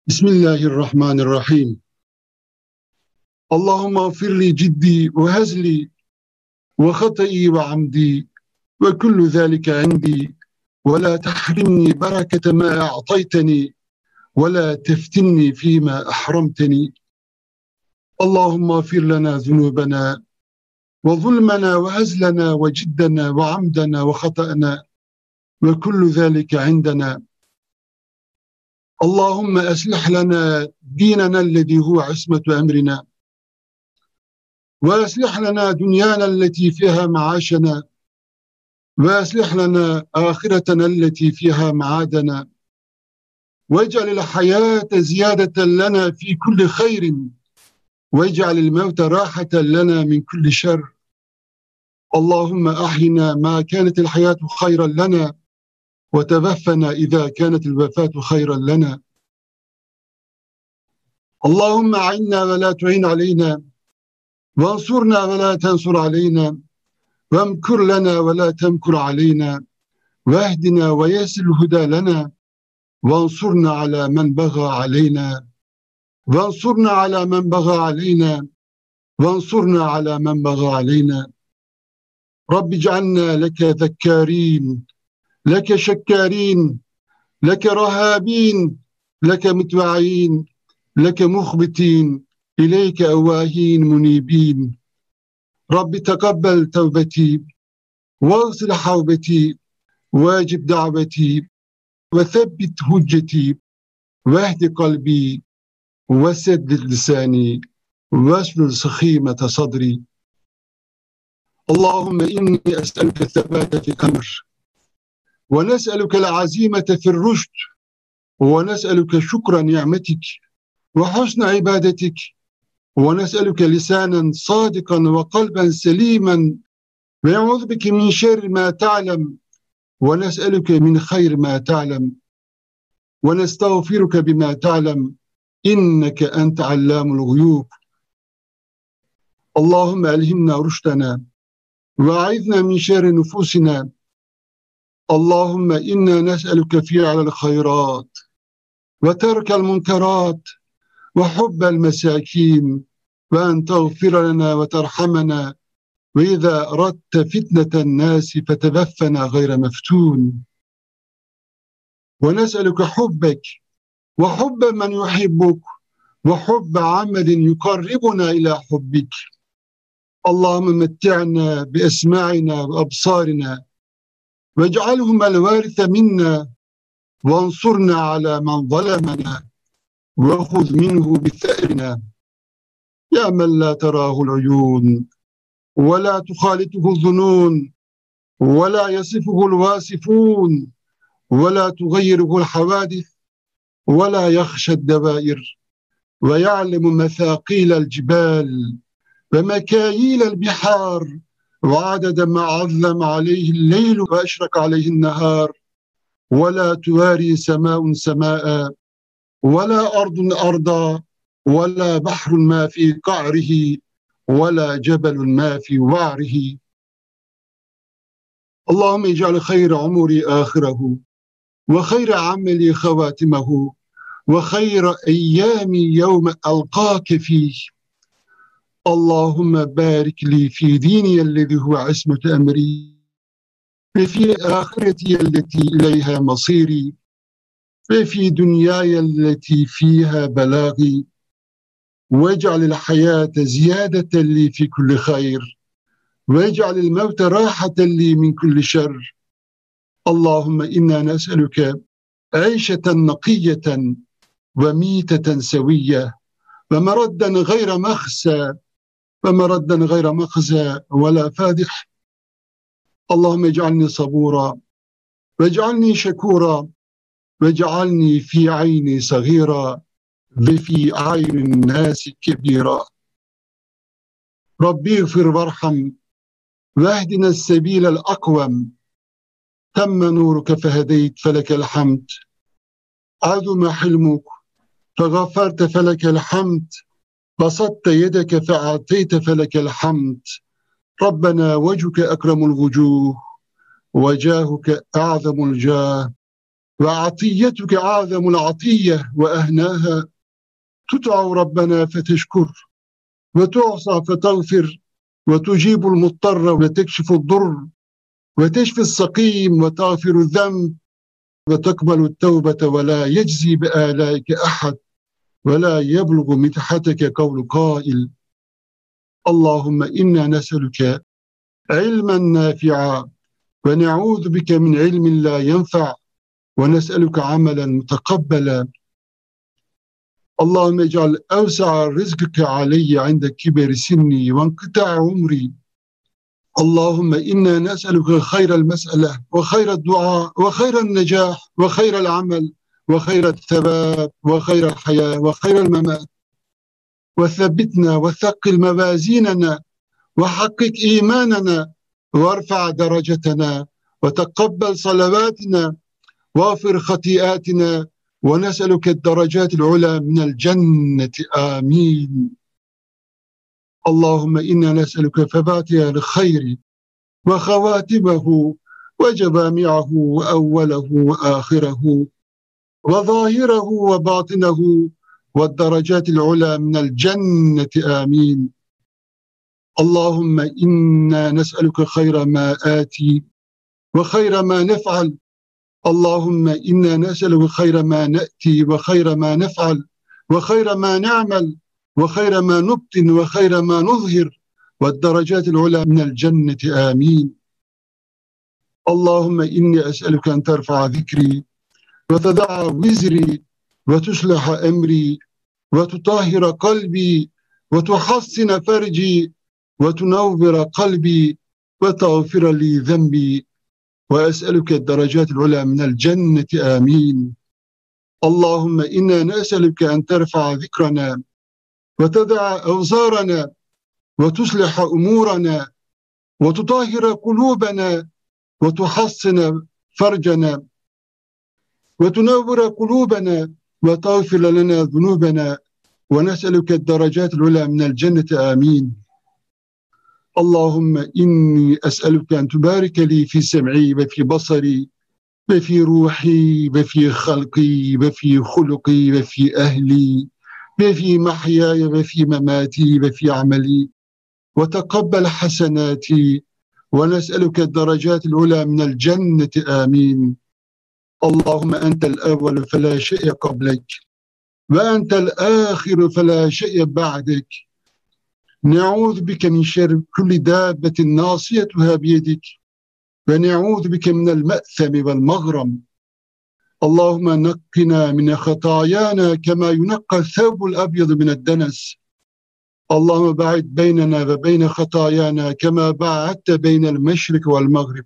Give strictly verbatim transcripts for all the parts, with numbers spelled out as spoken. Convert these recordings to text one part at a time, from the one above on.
Bismillahirrahmanirrahim. Allahümme gfirli ciddi ve hezli ve hata'i ve amdi ve kullu zâlike indi ve la tahrimni berekete ma a'tayteni ve la teftinni fîmâ ahramteni. Allahümme gfir lana zunubena ve zulmena ve hezlena ve ciddena ve amdena ve hata'na ve kullu zâlike indena. Allahümme eslih lana dinena ellezî huve ismetu emrina ve eslih lana dünyana ellezî fiha maaşena ve eslih lana ahiretena ellezî fiha maadena ve ec'alil hayâte ziyâdeten lana fî kulli hayrin ve ec'alil mevte râhaten lana min kulli şer. Allahümme ahyina ma kânetil hayâtu hayran lana ve tevaffena izâ kânetil vefâtu hayran lana. Allahümme a'inna ve la tu'in aleyna ve ansurna ve la tensur aleyna ve emkur lana ve la temkur aleyna ve ehdina ve yesil huda lana ve ansurna ala men baga aleyna ve ansurna ala men baga aleyna ve ansurna ala men baga aleyna. Rabbi cealna leke zekkârin, leke şekkârin, leke rahâbin, leke mütve'in, leke muhbitin, ileyke evvâhin munibin. Rabbi tekabbel tevbeti, vâgsil havbeti, vâcib da'veti, ve thebbit hücceti, vehdi kalbi, ve seddid lisani, ve şlul sıkhîmete sadri. Allahümme inni es'eluke thebâte fil emr, ve nes'elukel azîmete fil rüşd, ve nes'eluke şükra ni'metik, ve husne ibadetik, ve nes'eluke lisanen sadikan ve kalben selimen ve e'udhu bike min şerri ma ta'lem ve nes'eluke min hayr ma ta'lem ve nestağfiruke bima ta'lem inneke ente allamul guyub. Allahümme elhimna rüştena ve a'idna min şerri nufusina. Allahümme inna nes'eluke fi'alel hayrat ve terkel munkerat ve hubbel mesâkîn ve en tağfir lana ve terhamena ve izâ eradte fitneten nâsi feteveffena gayre meftûn. Ve nes'eluke hubbek ve hubbe men yuhibbuk ve hubbe amelin yukarribuna ila hubbik. Allahümme metti'na bi esma'ina ve absarina ve ec'alhumel vârithe minna ve ansurna ala men zalemena ve huz minhu bi the'rina. Ya men la terâhul uyûn ve la tuhalituhu zunûn ve la yasifuhul vasifûn ve la tugayyiruhul havadis ve la yakhşed devair ve ya'lemu mesâqîlel cibâl ve mekâyîlel bihâr ve adede ma azzem aleyhil leylu ve eşrek aleyhin nehâr ve la tuvâri semâun semâ'a ve la ardun arda ve la bahrun ma fi ka'rihi ve la cebelun ma fi va'rihi. Allahümme ec'al hayra umuri ahirehu ve hayra ameli havatimehu ve hayra eyyami yevme elqâke fîh. Allahümme barik li fi diniyellezi huve ismetu emri ve fi ahiretiyelleti ileyha masiri ve fi dünyayelleti fiha belâgi ve ec'alil hayâte ziyâdeten li fi kulli hayr ve ec'alil mevte râhaten li min kulli şer. Allahümme inna nes'eluke eîşeten nakiyeten ve mîteten seviyye ve meradden gayre mehse ve meradden gayre mehze ve la fâdih. Allahümme ec'alni sabura ve ec'alni şekura ve cealni fi ayni sagira ve fi aynin nasi kebira. Rabbi gfir varham ve ehdina sebilel akvem. Temme nuruke fehedeyt felekel hamd. Azume hilmuk fegaferte felekel hamd. Basatte yedeke fe'ateyte felekel hamd. Rabbena vecuke ekremul vucuh ve cahuke a'zamul cah. وعطيتك أعظم العطية وأهناها. تدعو ربنا فتشكر، وتعصى فتغفر، وتجيب المضطر وتكشف الضر، وتشفي السقيم وتغفر الذنب، وتقبل التوبة ولا يجزي بآلائك أحد، ولا يبلغ مدحتك قول قائل. اللهم إنا نسألك علما نافعا، ونعوذ بك من علم لا ينفع، ونسألك عملا متقبلا. اللهم اجعل أوسع رزقك علي عند كبر سني وانقطاع عمري. اللهم إنا نسألك خير المسألة وخير الدعاء وخير النجاح وخير العمل وخير الثبات وخير الحياة وخير الممات. وثبتنا وثقل موازيننا، وحقق إيماننا، وارفع درجتنا، وتقبل صلواتنا، واغفر خطيئاتنا، ونسألك الدرجات العلى من الجنة. آمين. اللهم إنا نسألك فواتح الخير وخواتمه وجوامعه وأوله وآخره وظاهره وباطنه والدرجات العلى من الجنة. آمين. اللهم إنا نسألك خير ما آتي وخير ما نفعل. اللهم إنا نسألك خير ما نأتي وخير ما نفعل وخير ما نعمل وخير ما نبطن وخير ما نظهر والدرجات العلى من الجنة. آمين. اللهم إني أسألك أن ترفع ذكري وتضع وزري وتصلح أمري وتطهر قلبي وتحسن فرجي وتنور قلبي وتغفر لي ذنبي، وأسألك الدرجات العلى من الجنة. آمين. اللهم إنا نسألك أن ترفع ذكرنا وتدع أوزارنا وتصلح أمورنا وتطهر قلوبنا وتحسن فرجنا وتنور قلوبنا وتغفر لنا ذنوبنا، ونسألك الدرجات العلى من الجنة. آمين. اللهم إني أسألك أن تبارك لي في سمعي وفي بصري وفي روحي وفي خلقي وفي خلقي وفي أهلي وفي محياي وفي مماتي وفي عملي، وتقبل حسناتي، ونسألك الدرجات العلى من الجنة. آمين. اللهم أنت الأول فلا شيء قبلك، وأنت الآخر فلا شيء بعدك. نعوذ بك من شر كل دابة ناصيتها بيدك، ونعوذ بك من المأثم والمغرم. اللهم نقنا من خطايانا كما ينقى الثوب الأبيض من الدنس. اللهم باعد بيننا وبين خطايانا كما باعدت بين المشرق والمغرب.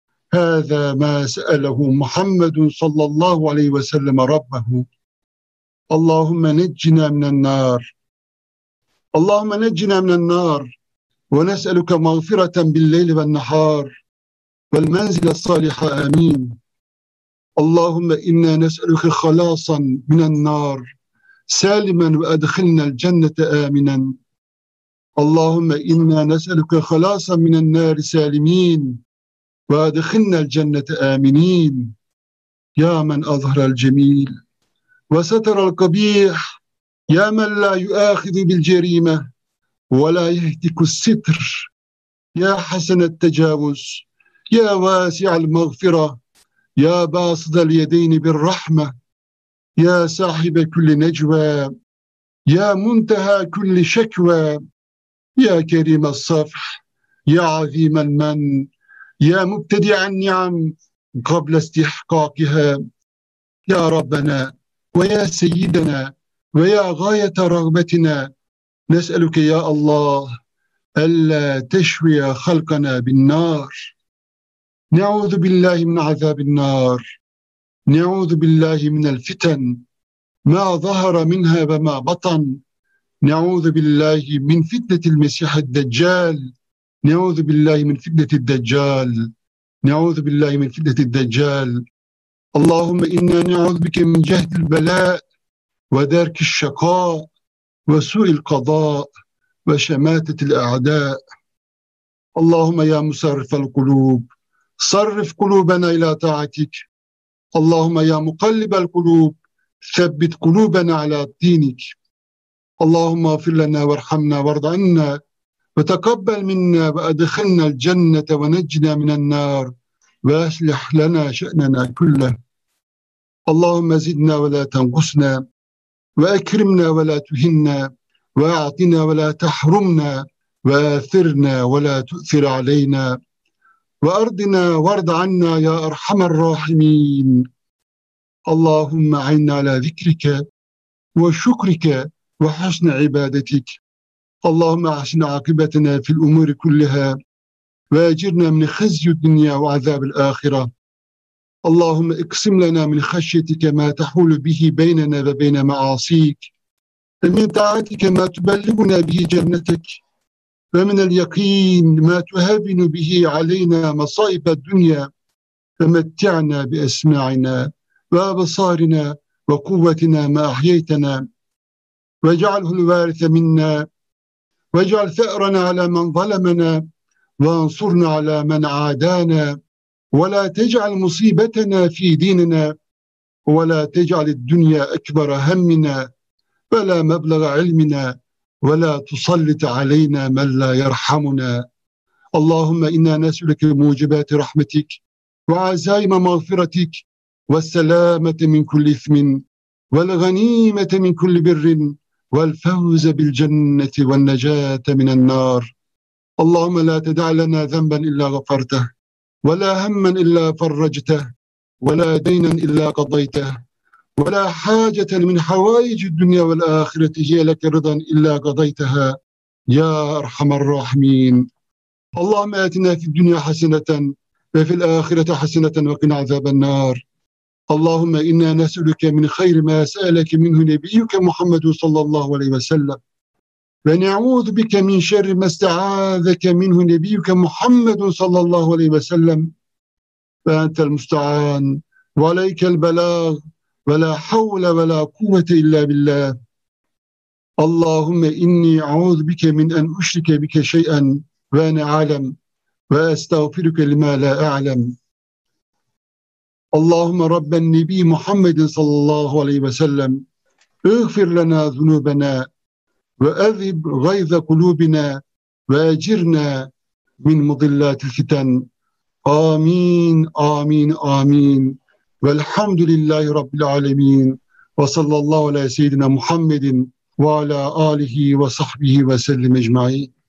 هذا ما سأله محمد صلى الله عليه وسلم ربه. اللهم نجنا من النار، اللهم نجنا من النار، ونسألك مغفرة بالليل والنهار والمنزل الصالح. آمين. اللهم إنا نسألك خلاصا من النار سالما وأدخلنا الجنة آمنا. اللهم إنا نسألك خلاصا من النار سالمين وأدخلنا الجنة آمنين. يا من أظهر الجميل وستر القبيح، يا من لا يؤاخذ بالجريمة ولا يهتك الستر، يا حسن التجاوز، يا واسع المغفرة، يا باسط اليدين بالرحمة، يا صاحب كل نجوى، يا منتهى كل شكوى، يا كريم الصفح، يا عظيم المن، يا مبتدع النعم قبل استحقاقها. يا ربنا ويا سيدنا ويا غاية رغبتنا، نسألك يا الله ألا تشوي خلقنا بالنار. نعوذ بالله من عذاب النار، نعوذ بالله من الفتن ما ظهر منها وما بطن، نعوذ بالله من فتنة المسيح الدجال، نعوذ بالله من فتنة الدجال، نعوذ بالله من فتنة الدجال. اللهم إنا نعوذ بك من جهد البلاء ودرك الشقاء وسوء القضاء وشماتة الأعداء. اللهم يا مصرف القلوب صرف قلوبنا إلى طاعتك، اللهم يا مقلب القلوب ثبت قلوبنا على دينك. اللهم اغفر لنا وارحمنا وارض عنا وتقبل منا وأدخلنا الجنة ونجنا من النار وأصلح لنا شأننا كله. اللهم زدنا ولا تنقصنا وأكرمنا ولا تهنا وأعطنا ولا تحرمنا وآثرنا ولا تؤثر علينا وأرضنا وارض عنا يا أرحم الراحمين. اللهم أعنا على ذكرك وشكرك وحسن عبادتك. اللهم أحسن عاقبتنا في الأمور كلها وأجرنا من خزي الدنيا وعذاب الآخرة. اللهم اقسم لنا من خشيتك ما تحول به بيننا وبين معاصيك، ومن طاعتك ما تبلغنا به جنتك، ومن اليقين ما تهون به علينا مصائب الدنيا، ومتعنا بأسماعنا وأبصارنا وقوتنا ما أحييتنا، واجعله الوارث منا، واجعل ثأرنا على من ظلمنا، وانصرنا على من عادانا، ولا تجعل مصيبتنا في ديننا، ولا تجعل الدنيا أكبر همنا ولا مبلغ علمنا، ولا تسلط علينا من لا يرحمنا. اللهم إنا نسألك موجبات رحمتك وعزائم مغفرتك والسلامة من كل إثم والغنيمة من كل بر والفوز بالجنة والنجاة من النار. اللهم لا تدع لنا ذنبا إلا غفرته، ولا هما إلا فرجته، ولا دينا إلا قضيته، ولا حاجة من حوائج الدنيا والآخرة هي لك رضا إلا قضيتها يا أرحم الراحمين. اللهم آتنا في الدنيا حسنة وفي الآخرة حسنة وقنا عذاب النار. اللهم إنا نسألك من خير ما سألك منه نبيك محمد صلى الله عليه وسلم، ونعوذ بك من شر ما استعاذك منه نبيك محمد صلى الله عليه وسلم، فأنت المستعان وعليك البلاغ، ولا حول ولا قوة إلا بالله. اللهم إني أعوذ بك من أن أشرك بك شيئا وأنا أعلم، وأستغفرك لما لا أعلم. اللهم رب النبي محمد صلى الله عليه وسلم اغفر لنا ذنوبنا وأذهب غيظ قلوبنا وأجرنا من مضلات الفتن. آمين آمين آمين. والحمد لله رب العالمين، وصلى الله على سيدنا محمد وعلى آله وصحبه وسلم أجمعين.